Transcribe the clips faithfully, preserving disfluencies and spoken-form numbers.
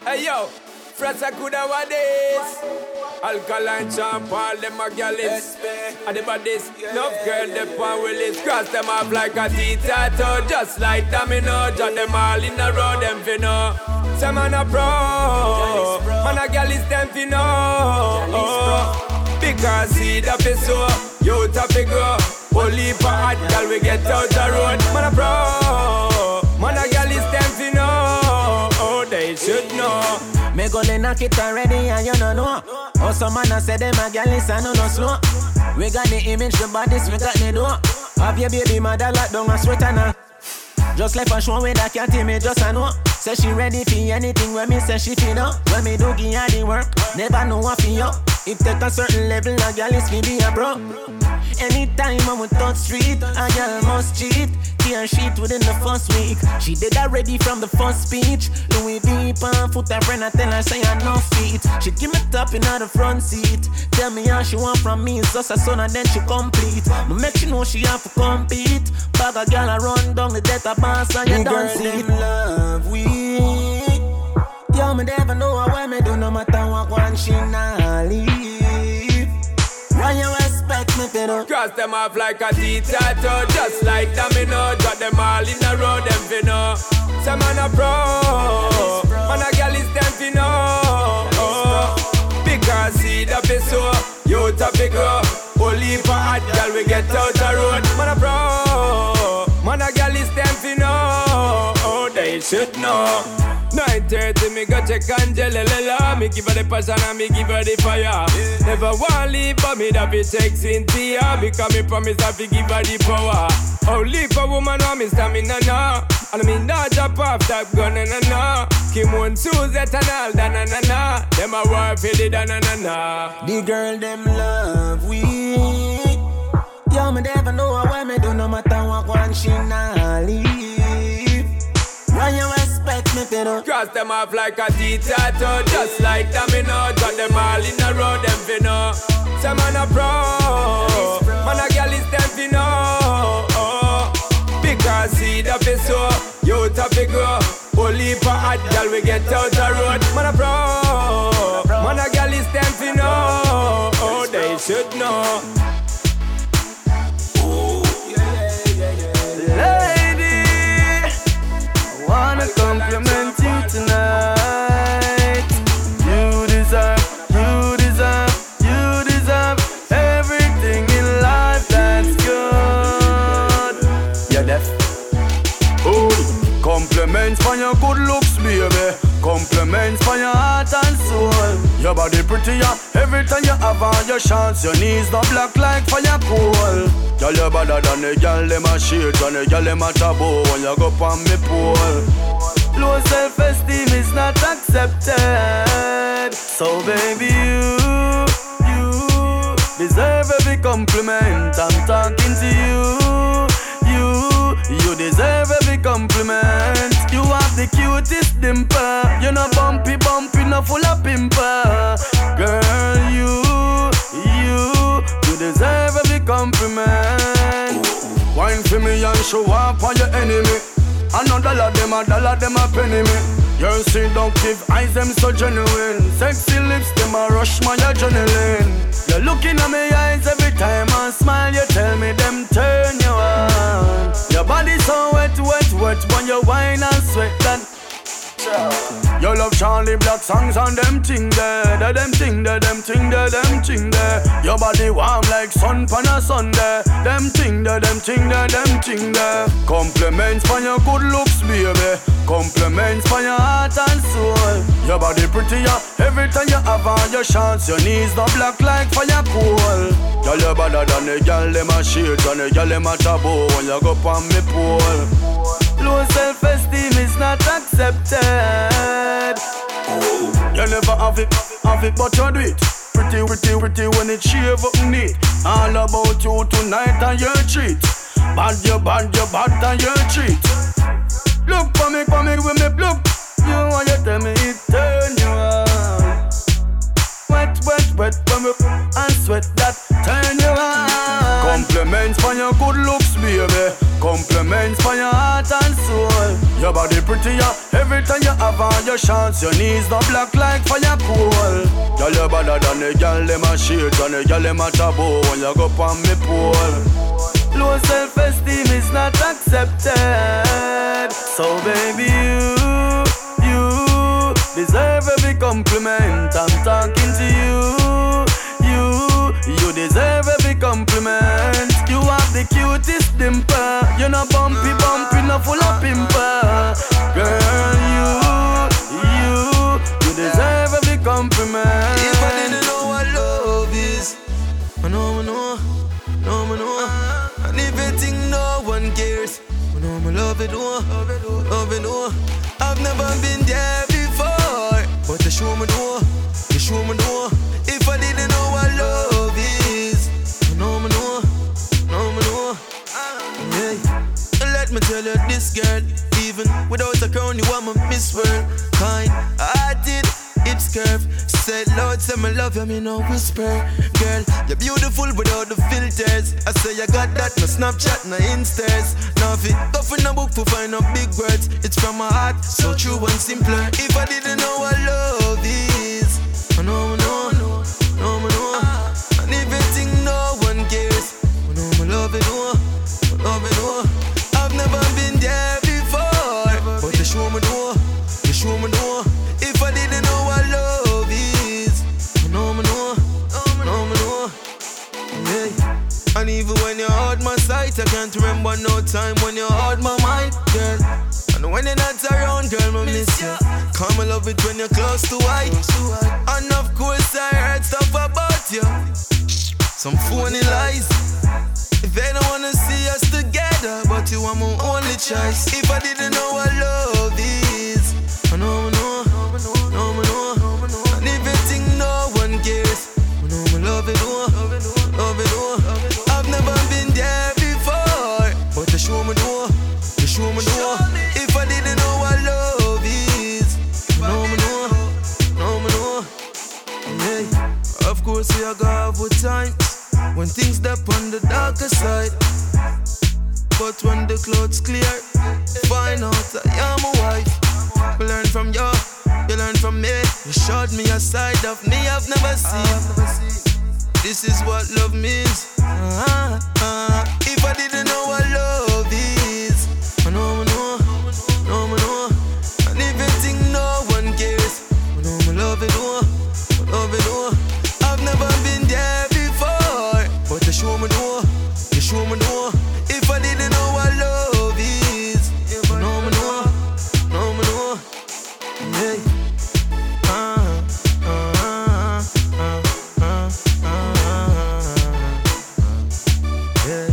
Hey yo, Frasa Kuda what this? Alkaline champ, all them a gallus. And the bodies, enough girl, the pan willis. Cross them off like a T-tattoo. Just like domino, jot them all in a row, them finna. Some man a pro, man a gallus, them finna. Because see the so, you tap it go. Only for hot girl, we get out the road. Man a pro, man a gallus, them finna. Oh, they should know. Me go they knock it already and you don't know. Oh, some man a say them a gal is no no slow. We got the image, the bodies, we got the door. Have your baby mother lock down a sweater now. Just like a show with that cat me just a know. Say she ready for anything when me say she feel up. When me do give her the work, never know what for you. If take a certain level, a gal is me be a bro. Anytime I'm on touch street, a gal must cheat. Tear sheet within the first week. She did that ready from the first speech. Louis V pan foot her friend, I tell her say I no feet. She give me top in the front seat. Tell me how she want from me, it's just a son and then she complete. But make she know she have to compete. Bag a gal a run down the data pass and you don't see it. Love we. Yo, me never know what me do no matter what one she not leave. Why you expect me to do? Cross them off like a T-tattoo. Just like domino, drop them all in a row, them finna. Some man a pro, man a gal is them finna. Because see the so, you tap it go. Only for hot girl, we get out the road. Man a pro, man a gal is them finna. Oh, they should know. nine thirty, me go check Angela. Me give her the passion and me give her the fire. Yeah. Never want leave, but me that be take Cynthia. Because me promise that we give her the power. Oh, leave a woman on me stamina now. And me not drop off that gun na na na. Kim one Suzette and all da na na na. Them a war for the da na na na. The girl them love we. Yo, me never know what me do no matter what one she not leave. Why you expect me to do? Cross them off like a T-tattoo. Just like domino, drop them all in a row, them finna. Some man a pro, man a gal is them finna. Because see the so, you tap it go. Only for hot gal we get out the road. Man a pro, man a gal is them finna. Oh, they should know. Wanna compliment you tonight. You deserve, you deserve, you deserve everything in life that's good. You're deaf. Oh, compliments for your good looks, baby. Compliments for your heart and soul. Your body prettier every time you have on your chance. Your knees not black like fire coal. Girl, you better than the girl them a shit and the girl them a taboo when you go on me pole. Low self-esteem is not accepted. So baby, you, you deserve every compliment. I'm talking to you, you, you deserve every compliment. You have the cutest dimple. You know bumpy, bumpy, no full of pimple. Girl, you, you, you deserve every compliment. Wine for me and show up on your enemy. Another dollar them a dollar them a penny me. Your seductive eyes them so genuine. Sexy lips them a rush my adrenaline. You're looking at me eyes every time I smile. You tell me them turn you on. Your body so wet, wet, wet when you whine and sweat that. You love Charlie Black songs and them ting there. They them ting there, them ting there, them ting there. Your body warm like sun pan a Sunday. Them ting there, them ting there, them ting there. Compliments for your good looks, baby. Compliments for your heart and soul. Your body prettier every time you have on your chance. Your knees not black like fire coal. Girl, you better than the girl them a shit and the girl them a taboo when you go on me pole. Low self-esteem is not accepted. You never have it, have it, but you do it. Pretty, pretty, pretty when it shave up neat. All about you tonight and your treat. Bad, you bad, you bad and your treat. Look for me, for me, with me, look. You want you tell me it turn you on. Wet, wet, wet, when we and sweat that turn you on. Compliments for your good looks, baby. Compliments for your heart and soul. Your body prettier every time you have for your chance. Your knees no black like fire coal. Girl, you better than the girl them a shades and the girl them a taboo when you go on me pole. Low self-esteem is not accepted. So baby, you, you deserve every compliment. I'm talking to you, you, you deserve every compliment. You have the cutest dimple. You're not bumpy, bumpy, not full of pimple. Girl, you, you, you deserve every compliment. If I didn't know what love is, I know, I know, no, I know. And if you think no one cares, I know I love it, oh, love it, oh. I've never been there before, but you show me, oh, you show me, oh. If I didn't know what love is, I know, I know, no, I know. Hey, let me tell you this, girl. Even without a crown, you are my Miss World. Kind, I did. It's curve. Said Lord, say me love you, me no whisper. Girl, you're beautiful without the filters. I say you got that, no Snapchat, no Instas. Now if it go for no book to find out big words, it's from my heart, so true and simpler. If I didn't know what love is, I know, I know, no, I know. And if you think no one cares, I know I love it, oh, I love it, oh. I've never been there before, but you show me, no, you show me, no. If I didn't know what love is, I know, I know, I know, I know. Hey. And even when you hold my sight, I can't remember no time when you hold my mind, girl. And when you're not around, girl, I miss you. Come, I love it when you're close to white. And of course I heard stuff about you, some phony lies. If they don't wanna see us together, but you are my only choice. If I didn't know what love is, I know, I know, no, I know. And if you think no one cares, I know I love it, oh, love it, oh. I've never been there before, but you show me, no, you show me, no. If I didn't know what love is, I know, I know, no, I know. Hey, of course we are gonna have good times when things step on the darker side. But when the clouds clear, find out I am a wife. We learn from you, you learn from me. You showed me a side of me I've never seen. This is what love means. Uh-huh, uh-huh. If I didn't know what love is, I know, I know, no, I know. And if you think no one cares, I know I love it, oh, I love it, oh. I've never been there before, but you show me, no, you show me, no. If I didn't know what love is, I know, I know, no, I know. Hey. Uh, uh, uh, uh, uh, uh, yeah.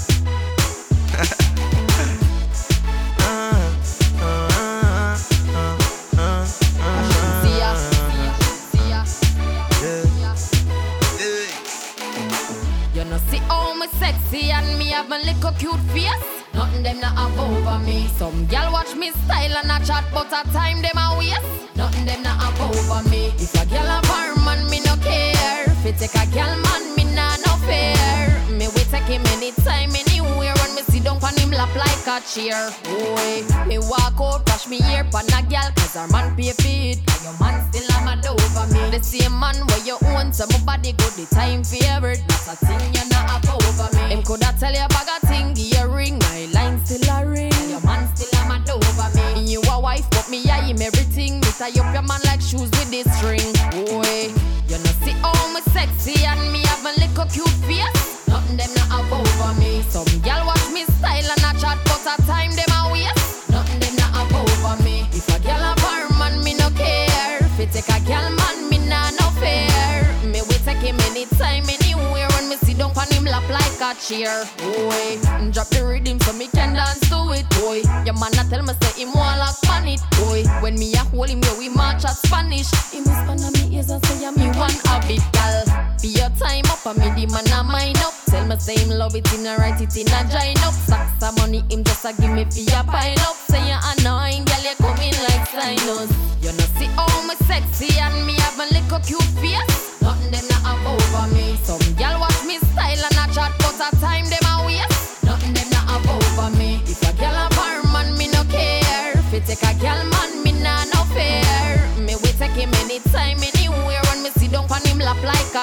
uh, uh, uh, uh, See ya, see ya, yeah. Yeah. You know see how me sexy and me have my little cute face. Nothing them not have over me. Some gal watch me style and a chat, but a time them a waste. Nothing them not have over me. If a gal have her man, me no care. If it take a gal man, me nah no fair. Me we take him anytime, anywhere. When me sit down on him lap like a chair. Boy, me walk out, brush me ear pan a gal, cause her man pay for it. And your man still have mad over me. The same man where you own, so my body good, the time favorite. That's a thing you not have over me. Him coulda tell you bag a thing, give you a ring. My line still a ring, and your man still have mad over me. And you a wife, but me I him everything. Me tie up your man like shoes with this string. Boy, you know see how me sexy and me have my little cute face. Nothing them not have over me. Some gal watch me style and a chat, but a time them a waste. Nothing them not have over me. If a gal have her man, me no care. If it take a gal man, me nah no fair. Me we take him anytime, anywhere. When me sit down on him lap like a chair. Boy, drop the rhythm so me can dance to it. Boy, your man a tell me say him want lock on it. Boy, when me a hold him, yeah we march at Spanish. He whisper on me ears and say me one of it, gal. Be your time up and me the man a mine up. Tell me say him love it in a write it in a join up. Sacks of money him just a give me for your pile up. Say you annoying, gal you coming like sinus. You know see how me sexy and me have a little cute face. Nothing them not have over me. Some gal watch me style and a chat, but a time them a waste. Nothing them not have over me. If a gal have her man, me no care. If it take a gal man, me nah no fair.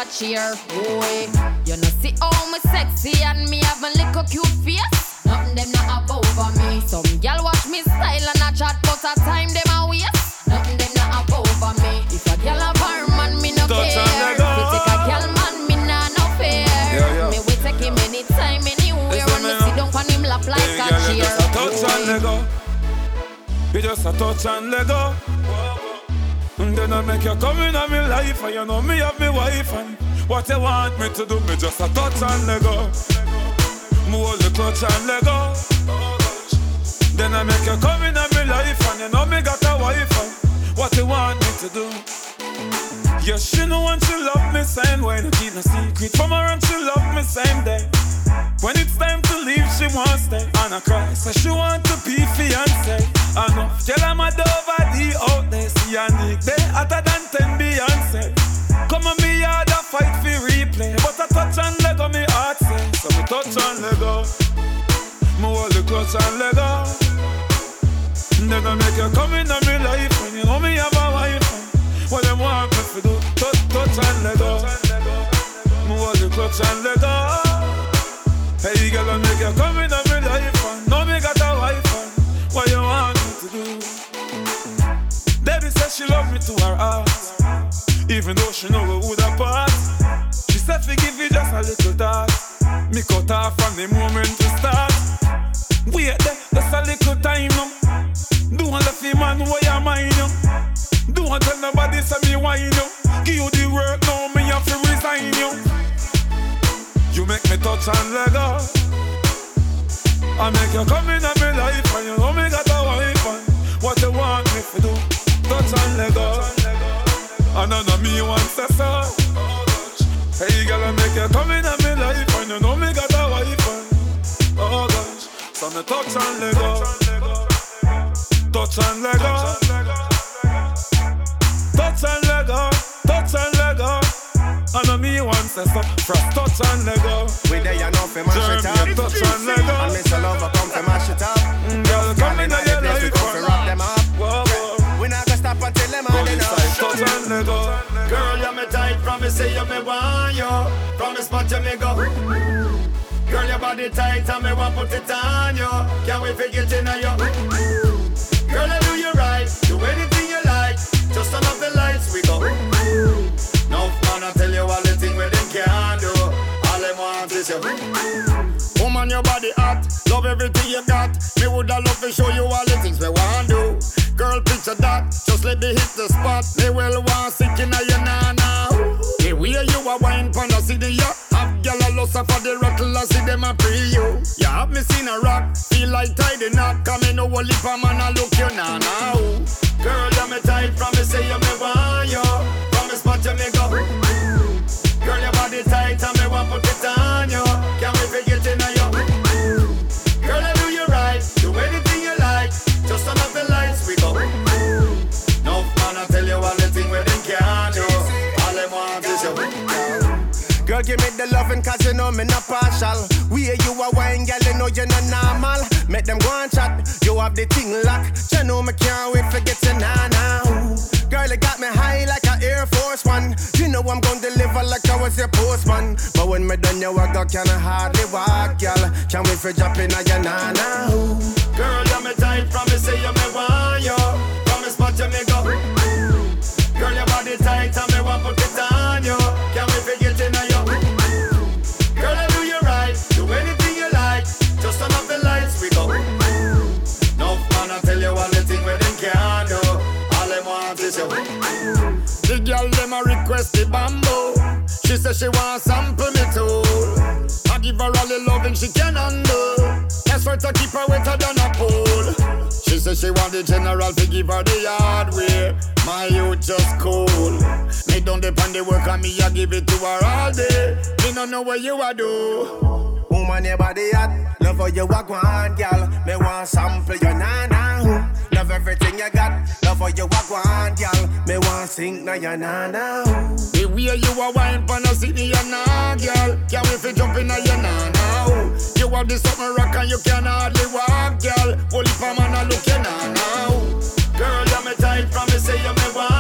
catch here. Boy, you know see how me sexy and me have my little cute face. Nothing them not above over me. Some gal watch me style and a chat, but a time them a waste. Nothing them not above over me. If a gal have her man, me no Touch care. and let go. If take a gal man, me nah no fear. Yeah, yeah. Me we take him anytime, anywhere. When me sit down on him lap like Hey, a girl, chair. you just a touch and let go. You just a touch and let go. And then I make you come in on my life, and you know me have me wife, and what you want me to do, me just a touch and let go. Me hold the clutch and let go. Then I make you come in on my life, and you know me got a wife, and what you want me to do. Yeah, she know when she love me same way, no keep no secret from her, and she love me same day. When it's time to leave, she won't stay. And I cry, so she want to be fiancé. Enough, tell her my over the out there. See a Nick, they hotter than ten Beyonce. Come on me yard a fight for replay. But I touch and let go, me heart say. So me touch and let go. Me hold the clutch and let go. Then I make you come in on me life. When you know me have a wife. What them want me to do, touch, touch and let go. Me hold the clutch and let go. Hey girl, I make you come in on me life, and know me got a wife, and what you want me to do? Debbie said she love me to her heart, even though she know we would apart. She said forgive me just a little that. Me cut her from the moment to start. Wait there, just a little time now. Don't let the man where you mind you. Don't tell nobody say me wine you. Give you the work now, me have to resign you. You make me touch and let go. I make you come in on me life, and you know me got a wife, and what you want me to do, touch and let go. And I know me want to say so. Hey girl, I make you come in on me life, and you know me got a wife, and oh gosh. So me touch and let go. Touch and let go. Touch and let go. Touch and let go. I know me want to stop from touch and let go. We there you know fi mash it up. Touch and let go. And Mister Lover come fi mash it up. Girl, come in on your place, we life. come fi wrap them up. Whoa, whoa. We not gonna stop until them Go all inside, touch enough. and let go. Girl, you me tight, promise say you me want you. Promise spot you me go. Girl, your body tight and me want put it on you. Can't wait for get in on you. Girl, I do you right, do anything you like. Just turn off the lights, we go. No man, I tell you all the things where them can't do. All them want is you. Woman, your body hot, love everything you got. Me woulda love to show you all the things we want do. Girl, picture that, just let me hit the spot. They will want sick in your nana. The way you a wine pon a city, ya have gyal a lust for the rattle, I see them a pre you. You have me seen a rock, feel like tidy knot. Come in, no only for man, I look you nana. Girl, you me tight, promise say you me want you. Promise spot you me go. Girl, your body tight and me want put it on you. Can't wait for get in on you. Girl, I do you right, do anything you like. Just turn off the lights, we go. No man, I tell you all the things where them can't do. All them want is you. Girl, give me the loving cause you know me not partial. We hear you a wine, girl, you know you're not normal. Make them go and chat, you have the thing locked. You know me can't wait for get you nana. Girl, you got me high like an Air Force One. You know I'm gonna deliver like I was your postman. But when me done you I got kinda hardly walk, girl. Can't wait for dropping on your nana. Girl, you me tight, promise say you me want you. Promise but you me go. Girl, your body tight and me want put it on you. Can't wait for get in on you. Girl, I do you right, do anything you like. Just turn off the lights, we go. No man, I tell you all the things where them can't do. All them want is you. The girl them a request the bamboo. She say she want sample me too. I give her all the loving she can handle. That's why to keep her wetter than a pool. She say she want the general to give her the hardware. My youth just cool. Me don't depend the work on me, I give it to her all day. Me don't know what you a do. Woman, your body hot, love how you walk one, girl. Me want sample your nana. Love everything you got, love how you walk one, girl. Me want sing na your nana. The way you a wine pon a city, you nah, girl. Can't wait for jump in a your nana. You have the something rock and you can hardly walk, girl. Only for man a look you nana. Girl, you me tight, promise say you me want.